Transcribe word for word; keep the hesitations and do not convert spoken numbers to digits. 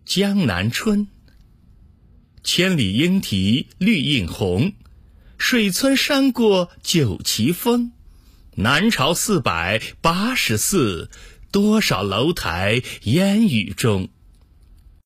江南春。千里莺啼绿映红，水村山过九旗风。南朝四百八十寺，多少楼台烟雨中。